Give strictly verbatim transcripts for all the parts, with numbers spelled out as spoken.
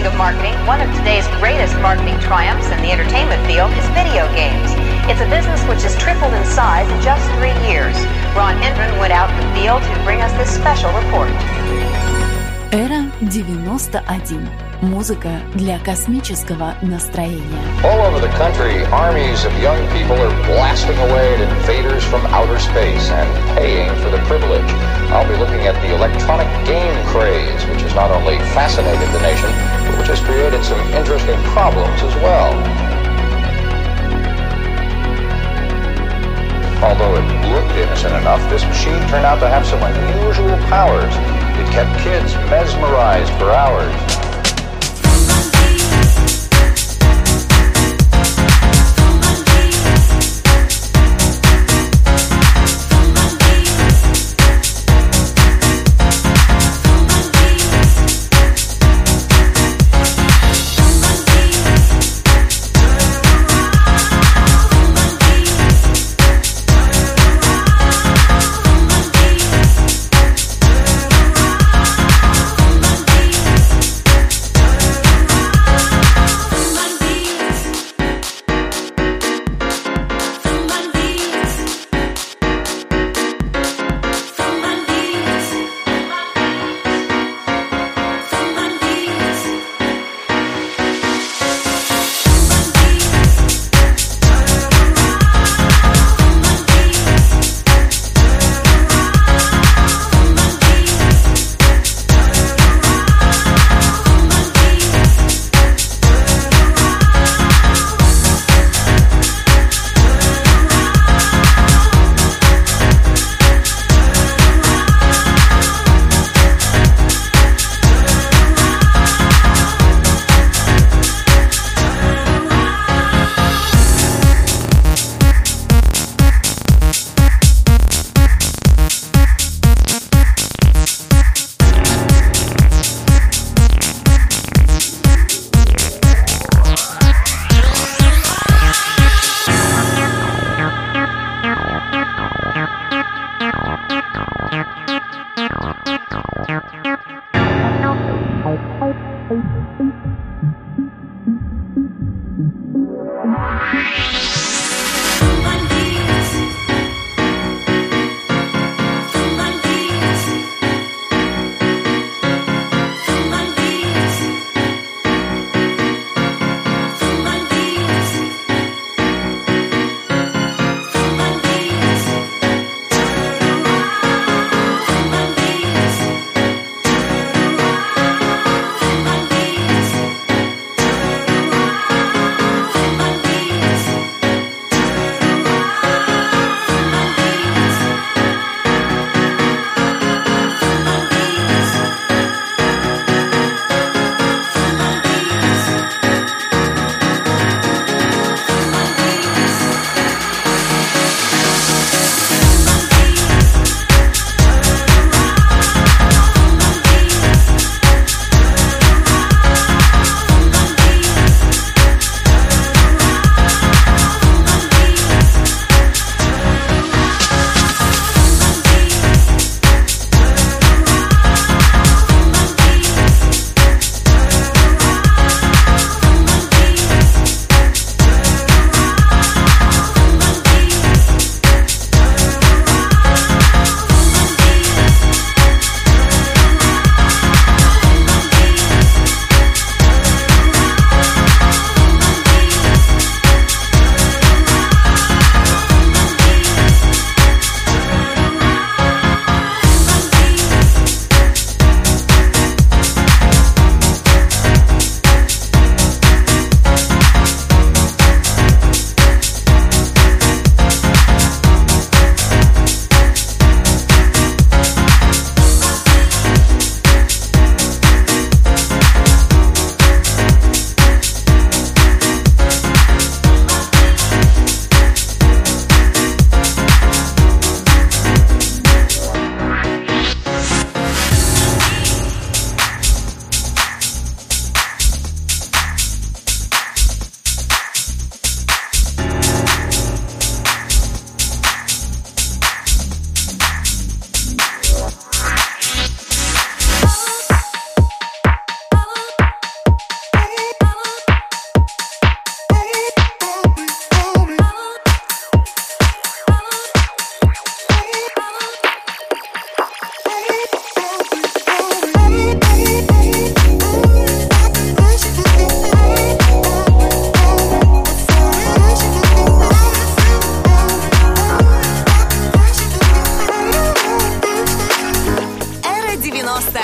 Speaking of marketing, one of today's greatest marketing triumphs in the entertainment field is video games. It's a business which has tripled in size in just three years. Ron Hendren went out in the field to bring us this special report. Эра девяносто один. Музыка для космического настроения. All over the country, armies of young people are blasting away at invaders from outer space and paying for the privilege. I'll be looking at the electronic game craze, which has not only fascinated the nation, but which has created some interesting problems as well. Although it looked innocent enough, this machine turned out to have some unusual powers. It kept kids mesmerized for hours.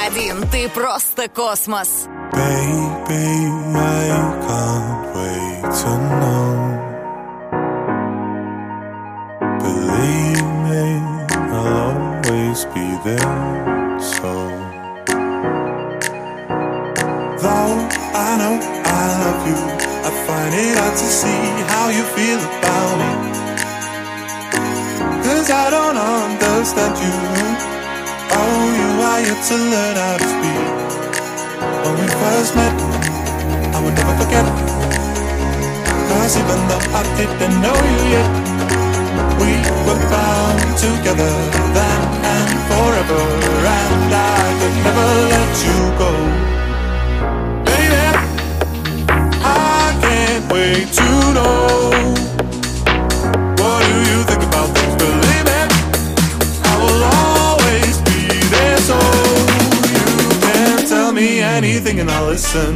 один. Ты просто космос. Baby, I can't wait to know. Believe me, I'll always be there. So, though I know I love you, I find it hard to see how you feel about me. 'Cause I don't understand you. Oh, you are yet to learn how to speak. When we first met, I will never forget. 'Cause even though I didn't know you yet, we were bound together then and forever. And I could never let you go. Baby, I can't wait to know. What do you think about things? Believe me, I will always be there. So tell me anything and I'll listen.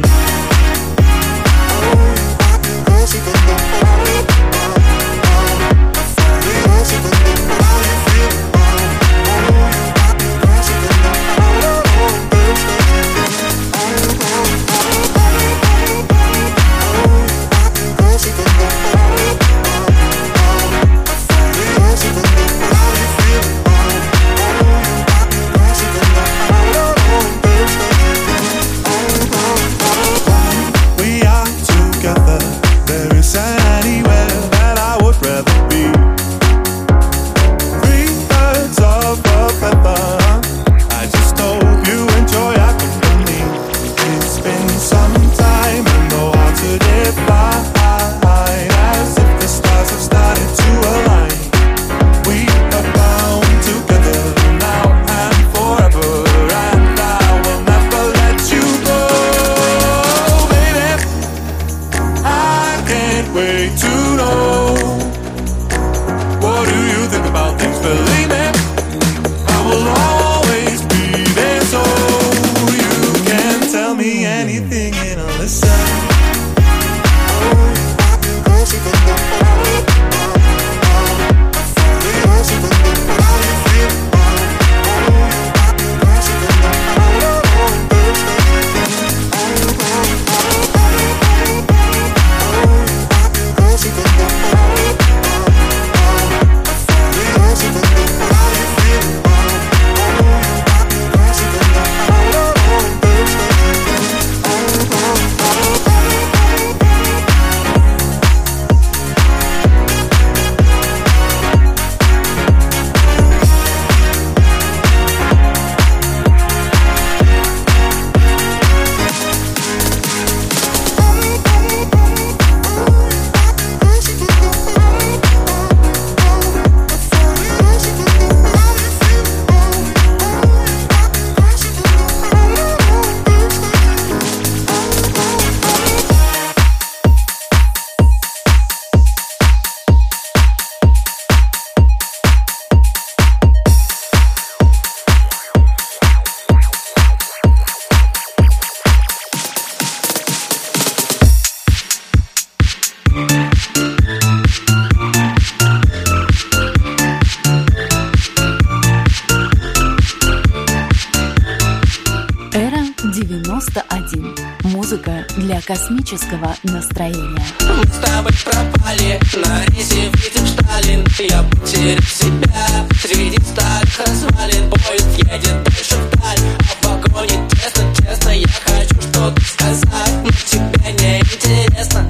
Музыка для космического настроения. Мы с тобой пропали, на рейсе видим Сталин. Я потерял себя среди старых развалин. Поезд едет дальше вдаль, а в вагоне тесно, честно. Я хочу что-то сказать, но тебе не интересно.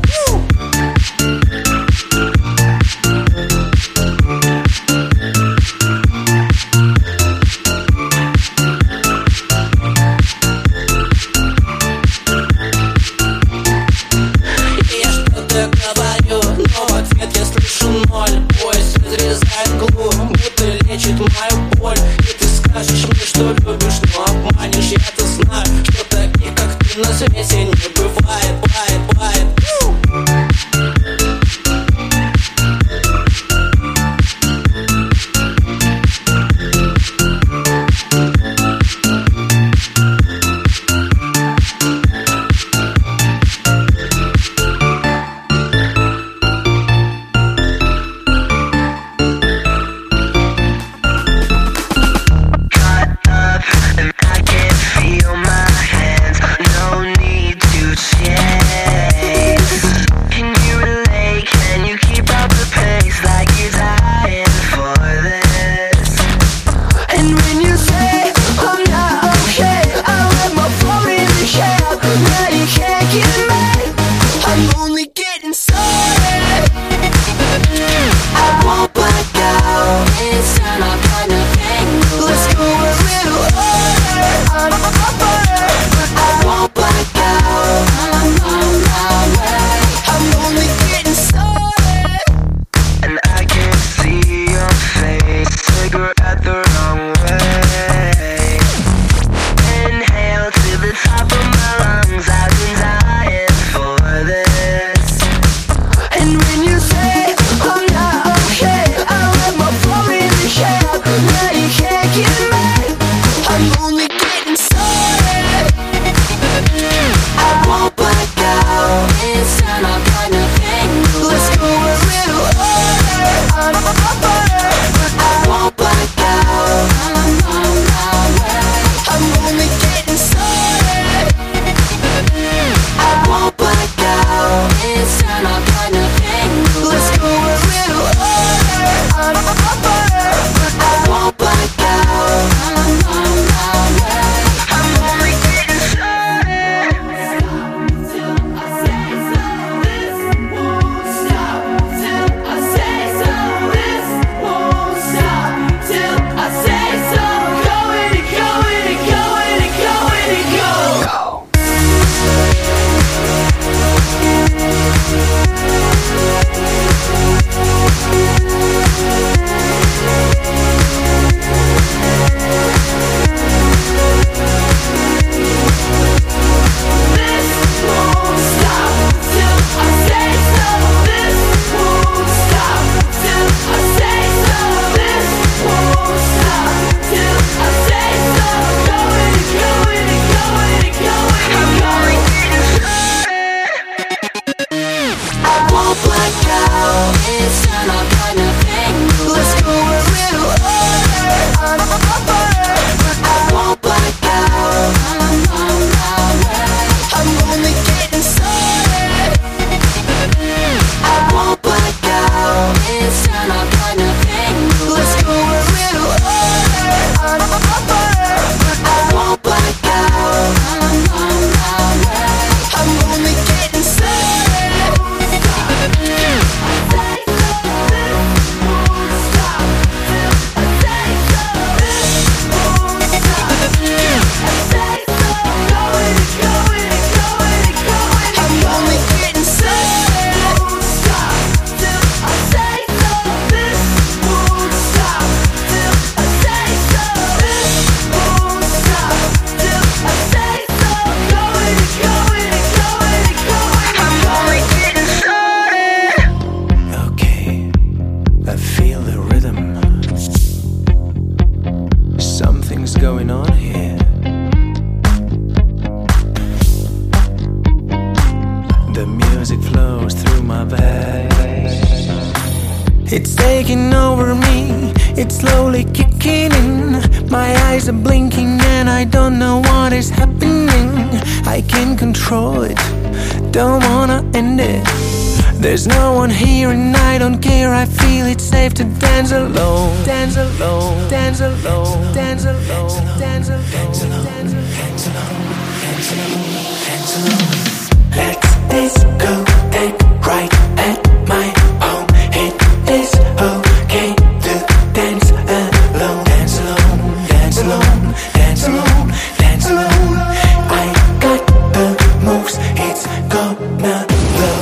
Мою боль, и ты скажешь мне, что любишь, но обманешь. Я-то знаю, что таких, как ты, на свете не бывает, бывает, бывает. yeah. The music flows through my veins. It's taking over me, it's slowly kicking in. My eyes are blinking and I don't know what is happening. I can't control it, don't wanna end it. There's no one here and I don't care. I feel it's safe to dance alone. Dance alone, dance alone, dance alone, dance alone, dance alone, dance alone, dance alone, dance alone. Let this go take right at my home. It is okay to dance alone. Dance alone, dance alone, dance alone, dance alone. I got the moves, it's gonna blow.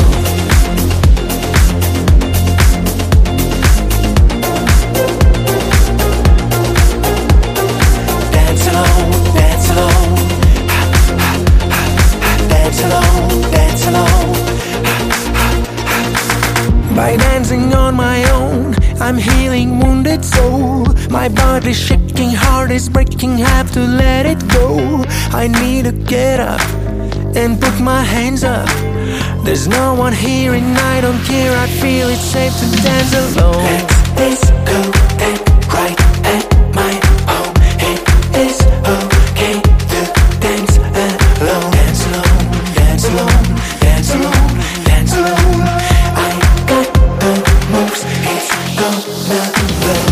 Dance alone, dance alone, dance alone, dance alone. By dancing on my own, I'm healing wounded soul. My body's shaking, heart is breaking, have to let it go. I need to get up and put my hands up. There's no one here and I don't care. I feel it's safe to dance alone. Let this go take right at my home. It is okay to dance alone. Dance alone, dance alone, dance alone, dance alone. I got the moves, it's gonna blow.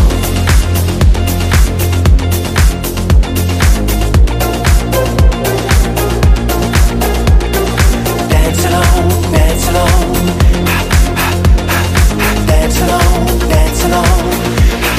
Dance alone, dance alone, dance alone, dance alone.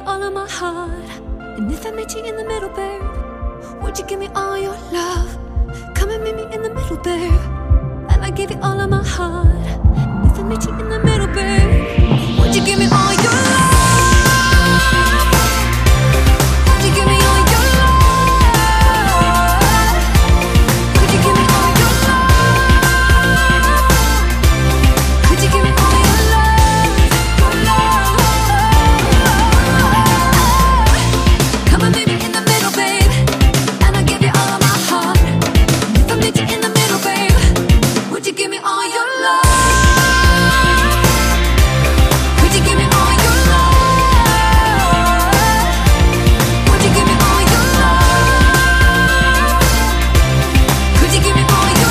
all of my heart? And if I met you in the middle, babe, would you give me all your love? Come and meet me in the middle, babe, and I give you all of my heart. And if I met you in the middle, babe, would you give me all your love? Would you give me all your love? Could you give me all your love? Could you give me all your love? Your love. Come and meet me in the middle, babe, and I'll give you all of my heart. And if I meet you in the middle, babe, would you give me all your love? Could you give me all your love? Would you give me all your love? Could you give me all your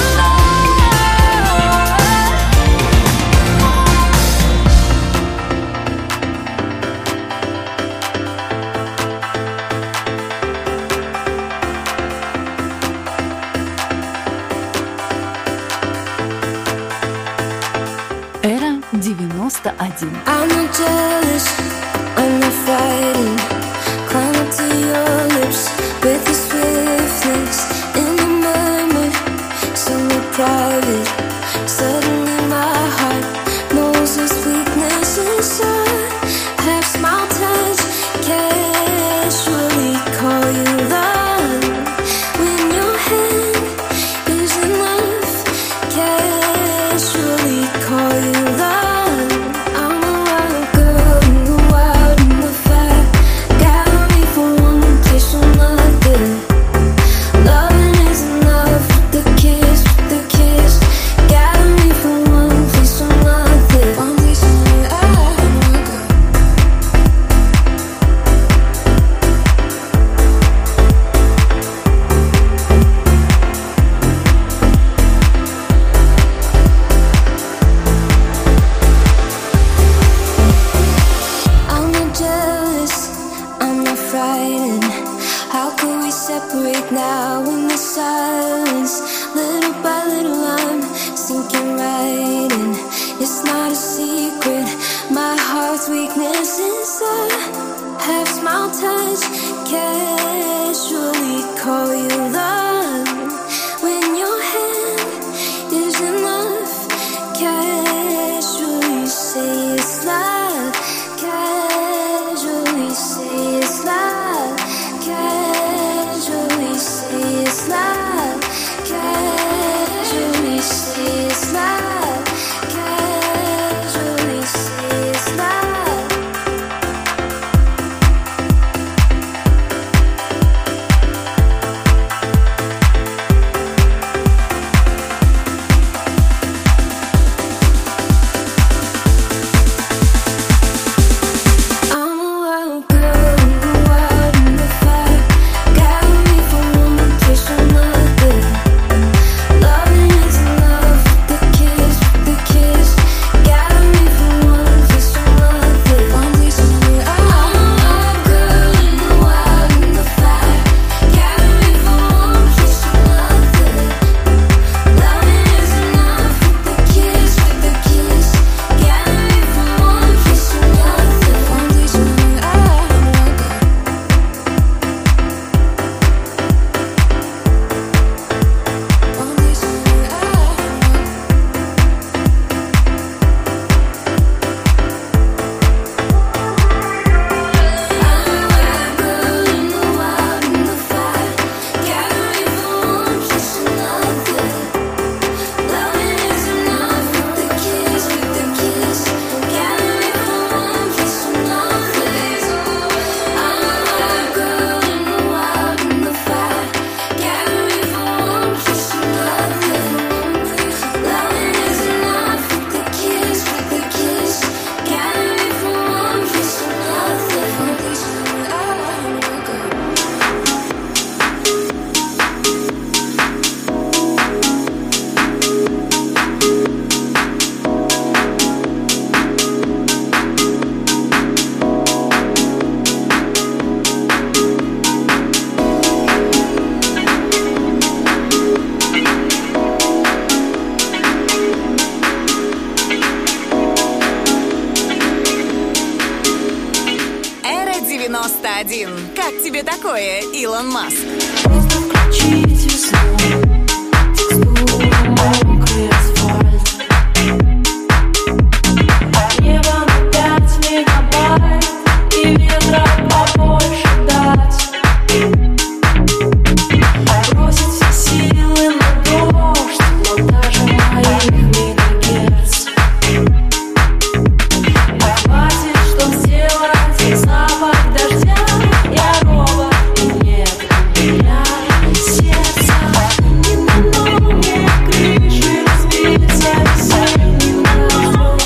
Эра девяносто один. I'm not jealous, I'm not fighting. Climb up to your lips with the swiftness in the moment, somewhere private. Suddenly my heart knows this weakness inside. Have small touch, casually call you love. When your hand is enough, casually call you love. I'm a wild girl in the wild in the fire. Gather me for one place or another. Loving is enough with the kiss, with the kiss. Gather me for one place or another. One place or another. I'm not jealous, I'm not frightened. How could we separate now in the silence? Little by little I'm sinking right in. It's not a secret, my heart's weakness inside. Have small touch, casually call you love. When your hand is enough, casually say it's love. Casually say it's love. Casually say it's love. Casually say it's love. Casually say it's love. девяносто один. Как тебе такое, Илон Маск? Просто включите снова текстуру мокрый асфальт. Небо на пять мегабайт и ветра побольше дать. Бросить все силы на дождь, но даже моих мегагерц не хватит, чтоб сделать запах дождя. Я робот, и нет у меня сердца. Не дано мне крыши разбиться весенним дождем.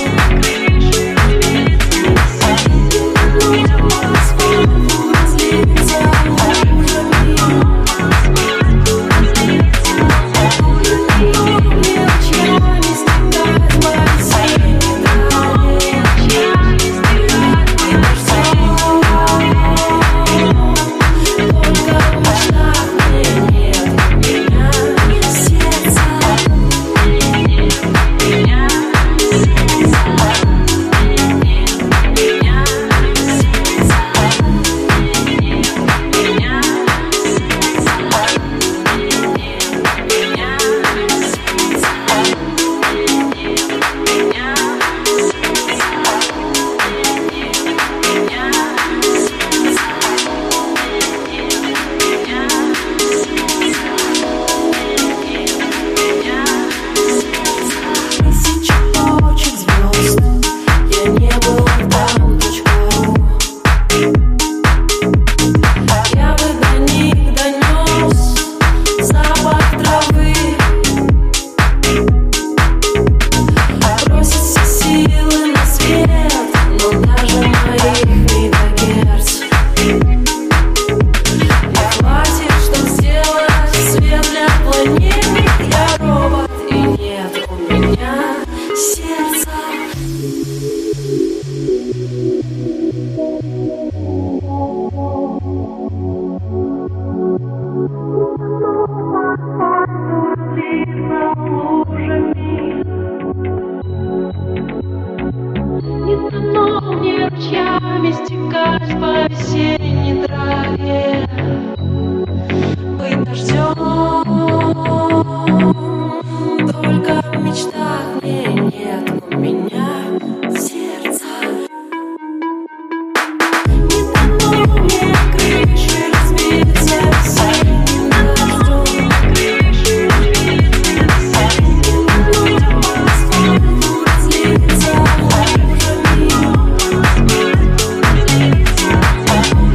Не дано мне по асфальту разлиться лужами. Мелочами стекать по весенней траве. И дождем. Только в мечтах мне нет у меня сердца. Тысяча точек звезд, я не был там точка ру. Я бы до них донес запах травы. Бросить все силы на свет, но даже моих мегагерц не хватит, чтоб сделать свет для планеты. Я робот, и нет у меня сердца. Не дано мне ручьями стекать по весенней траве. Быть дождем. Только в мечтах мне нет у меня сердца. Не дано мне крыши разбиться весенним дождем. Не дано мне по асфальту разлиться лужами.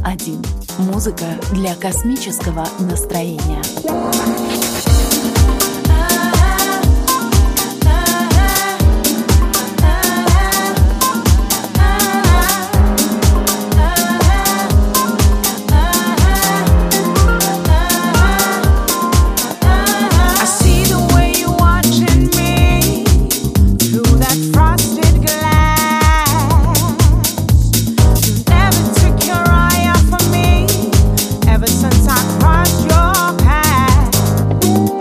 один. Музыка для космического настроения. Since I crossed your path,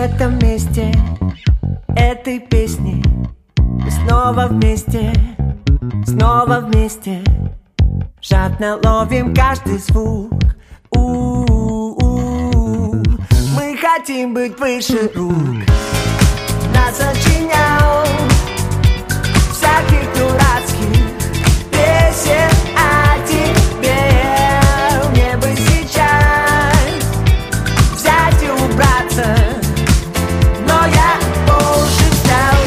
этом месте, этой песни мы снова вместе, снова вместе. Жадно ловим каждый звук. У-у-у. Мы хотим быть выше рук. Нас сочинял всяких дурацких песен о тебе. Мне бы сейчас взять и убраться, но я позже встал.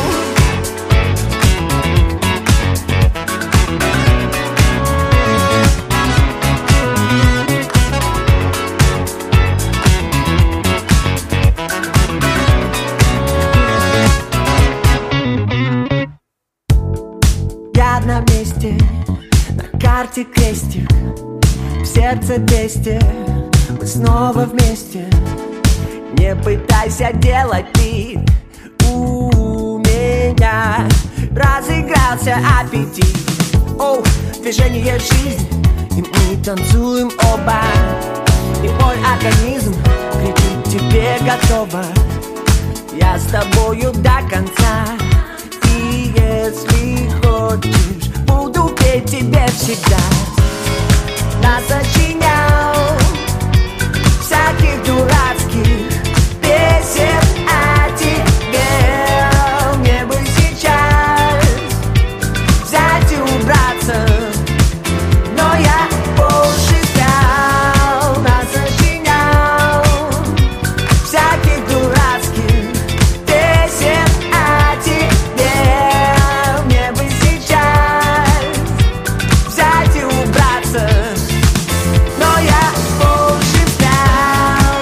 Я на месте, на карте крестик, в сердце двести, мы снова вместе. Не пытайся делать вид, у меня разыгрался аппетит. Оу, движение жизни, и мы танцуем оба, и мой организм кричит тебе готово. Я с тобою до конца, и если хочешь, буду петь тебе всегда. Нас сочинял всяких дурацких песен о тебе. Мне бы сейчас взять и убраться, но я позже стал. Нас сочинял всяких дурацких песен о тебе. Мне бы сейчас взять и убраться, но я позже стал.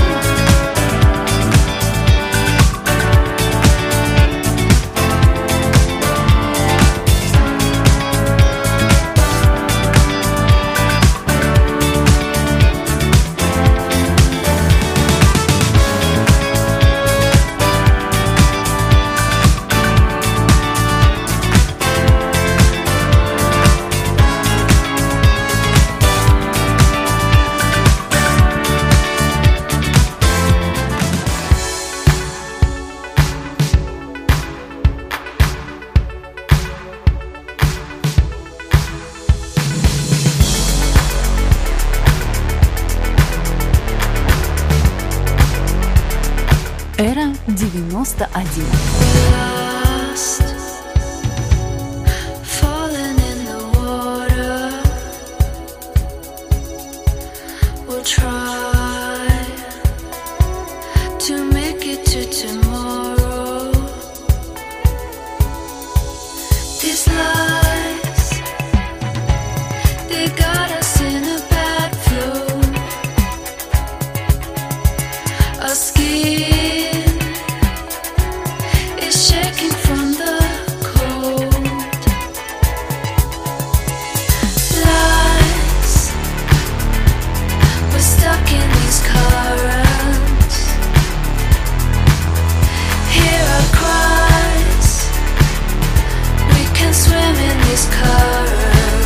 Эра девяносто один. Falling in the water, we'll try to make it to tomorrow. These lies, they got us in a bad flow. Our skin is shaking from the cold. Lies, we're stuck in these currents. Hear our cries, we can swim in these currents.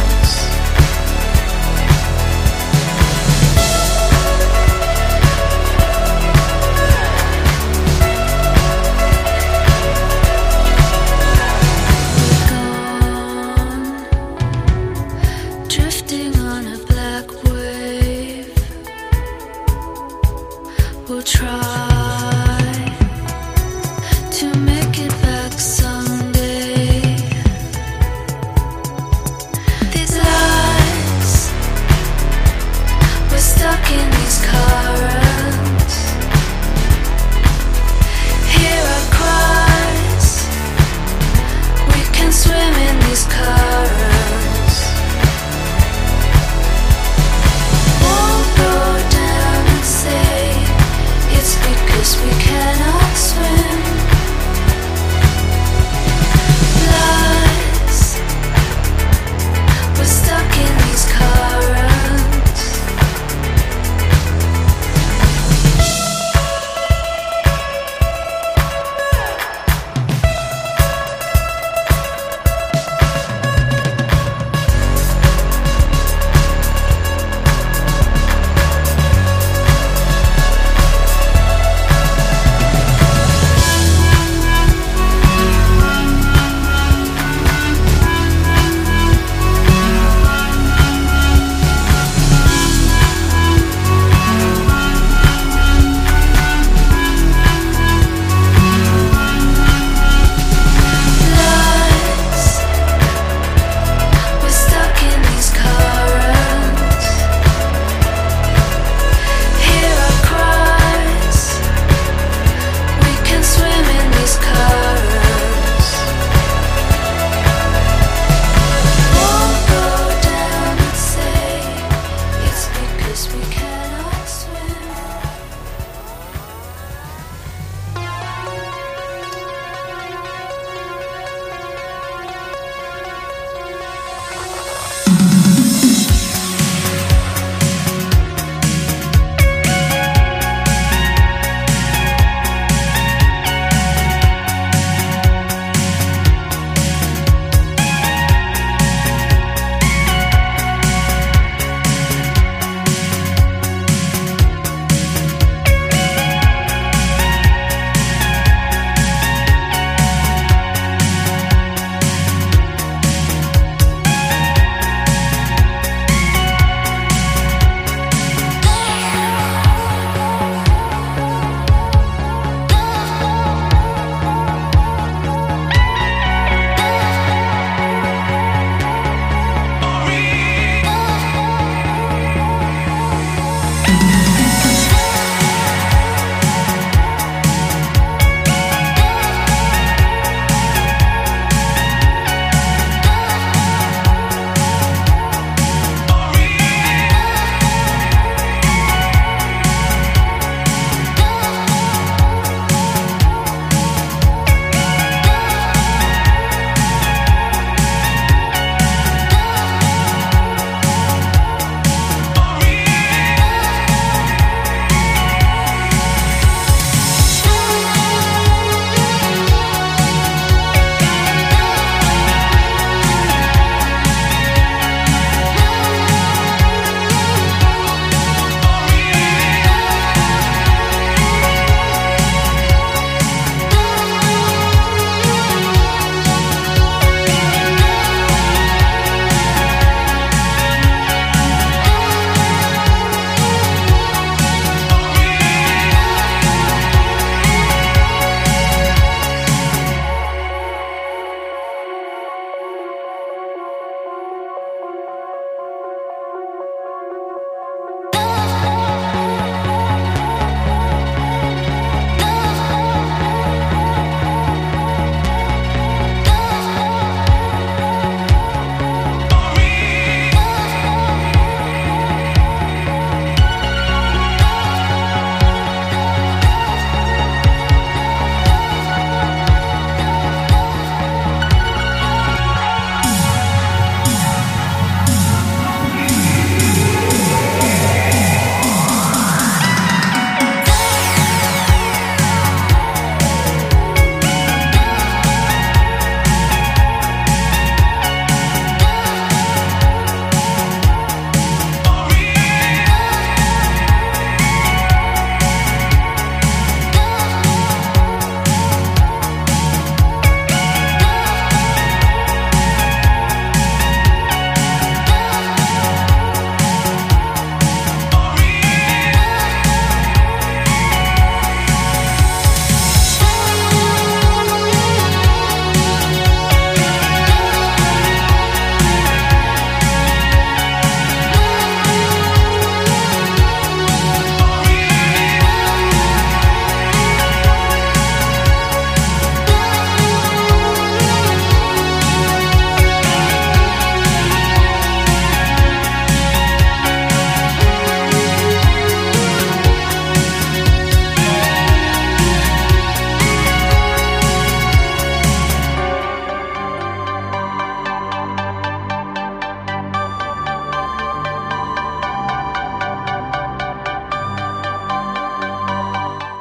Drifting on a black wave, we'll try to make it back someday. These lies, we're stuck in these currents. Hear our cries, we can swim in these currents. Won't go down and say it's because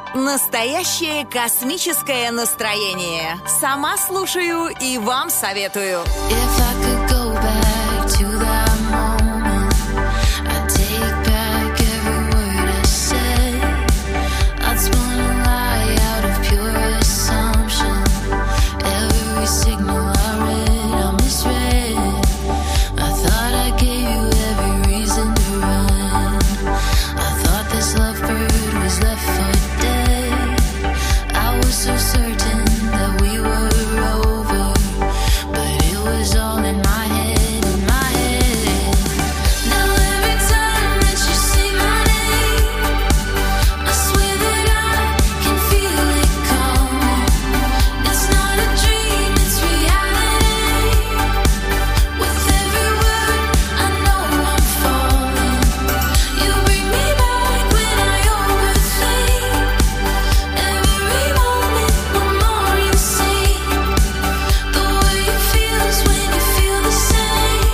Настоящее космическое настроение. Сама слушаю и вам советую. If I could go back to that moment, I'd take back every word I said. I'd spun a lie out of pure assumption. Every signal I read, I misread. I thought I gave you every reason to run. I thought this lovebird was left for dead. I was so certain that we were over, but it was all in my head, in my head. Now every time that you say my name, I swear that I can feel it coming. It's not a dream, it's reality. With every word, I know I'm falling. You bring me back when I overthink. Every moment, I'm more insane. The way it feels when you feel the same.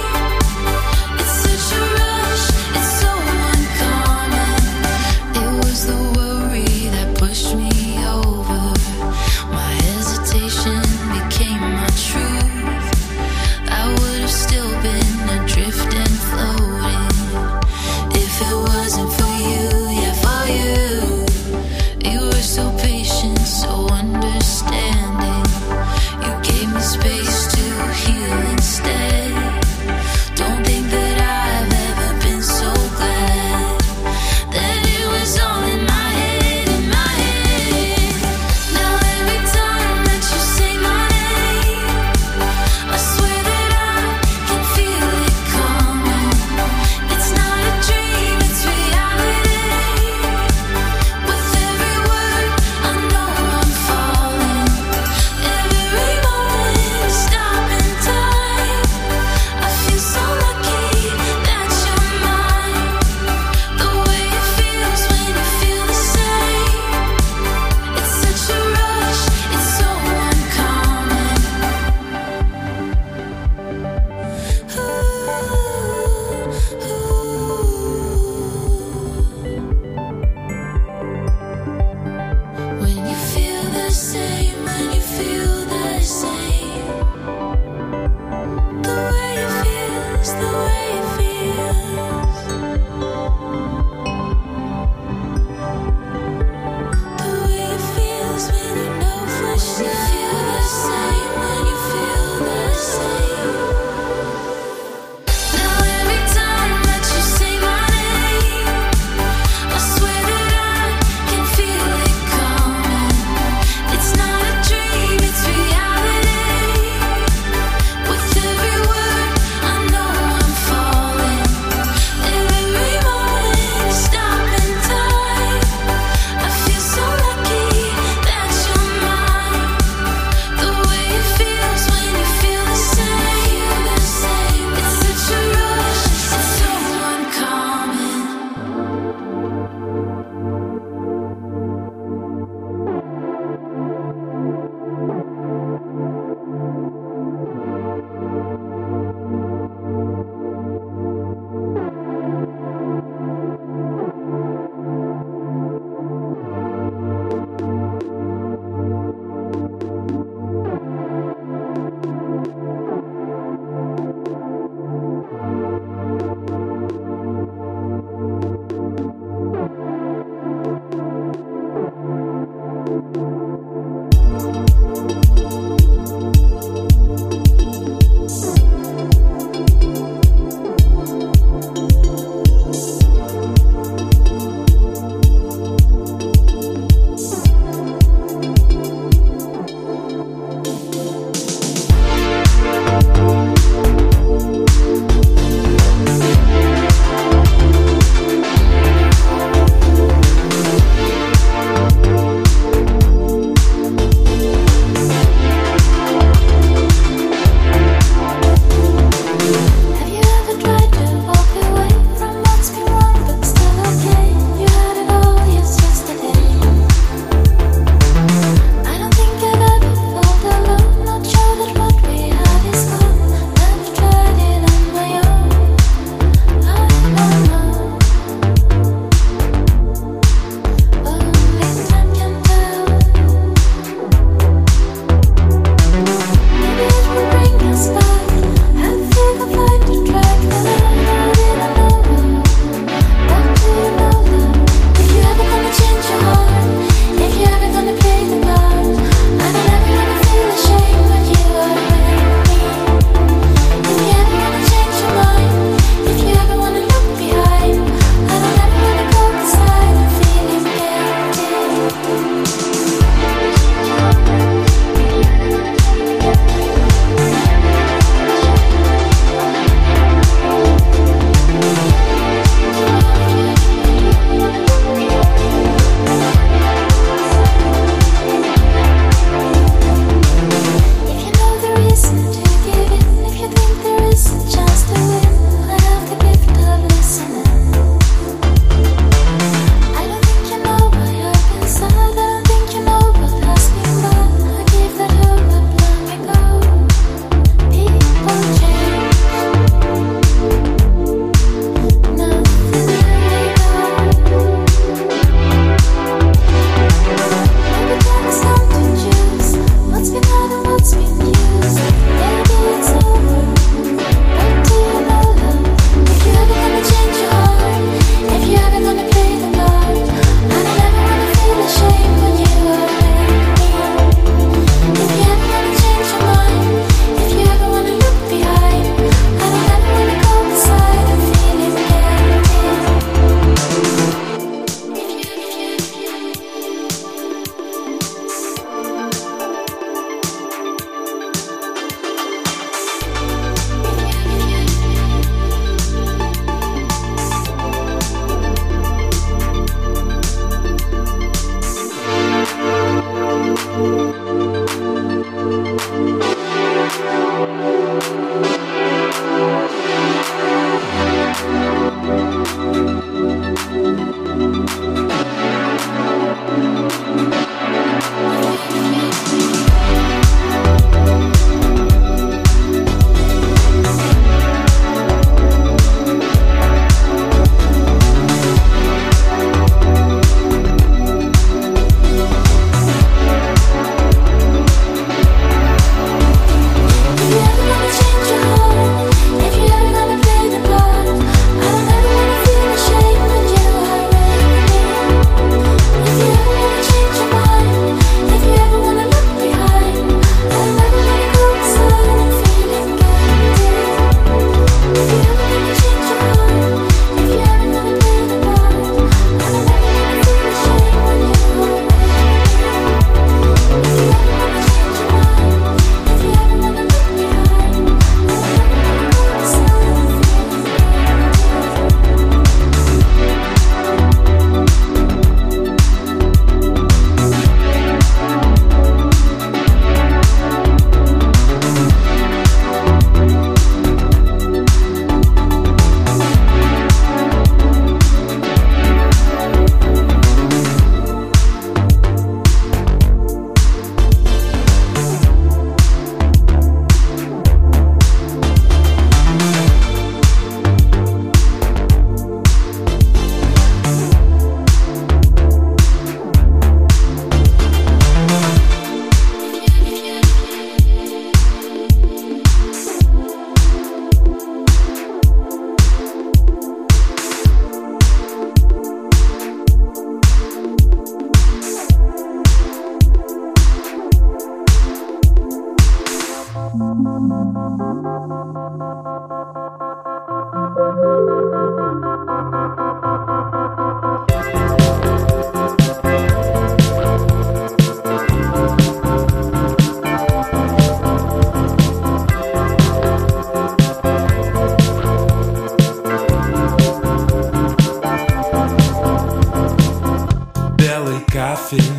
It's such a rush, it's so uncommon. It was the worry that pushed me over. My hesitation became my truth. I would have still been adrift and floating if it wasn't for you, yeah, for you. You were so patient, so understanding. You gave me space to heal instead. Don't think that I've ever been so glad that it was all in my head, in my head. Now every time that you say my name, I swear that I can feel it coming. It's not a dream, it's reality. With every word, I know I'm falling.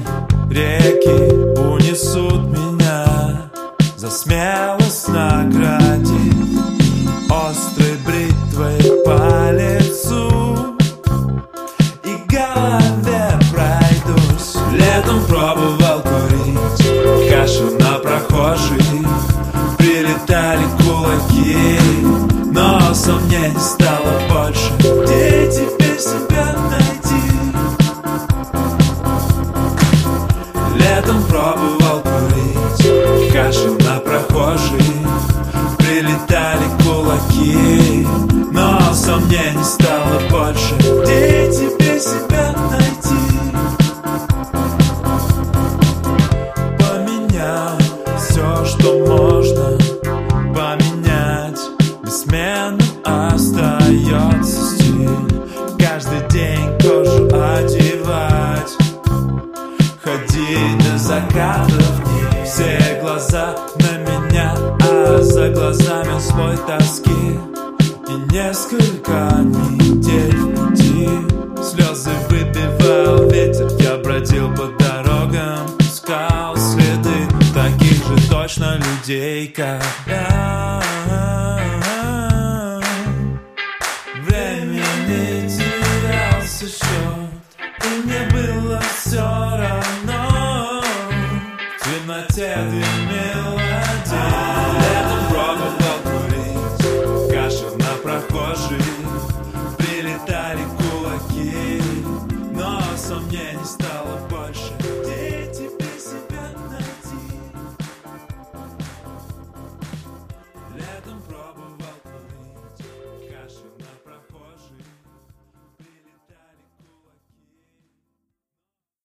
реки унесут меня, за смелость наградив острой бритвой по лицу и голове пройдусь. Летом пробовал курить кашу на прохожих, прилетали кулаки, но сомнений стало больше. Где теперь себя найти? Летом пробовал курить кашу на прохожих, прилетали кулаки, но сомнений стало больше. Где теперь себя найти? Поменял все, что можно поменять, бессменным остается стиль. Каждый день кожу одевать, ходить до закатов дней. Все глаза на меня, а за глазами слой тоски. И несколько недель в пути слезы выбивал ветер.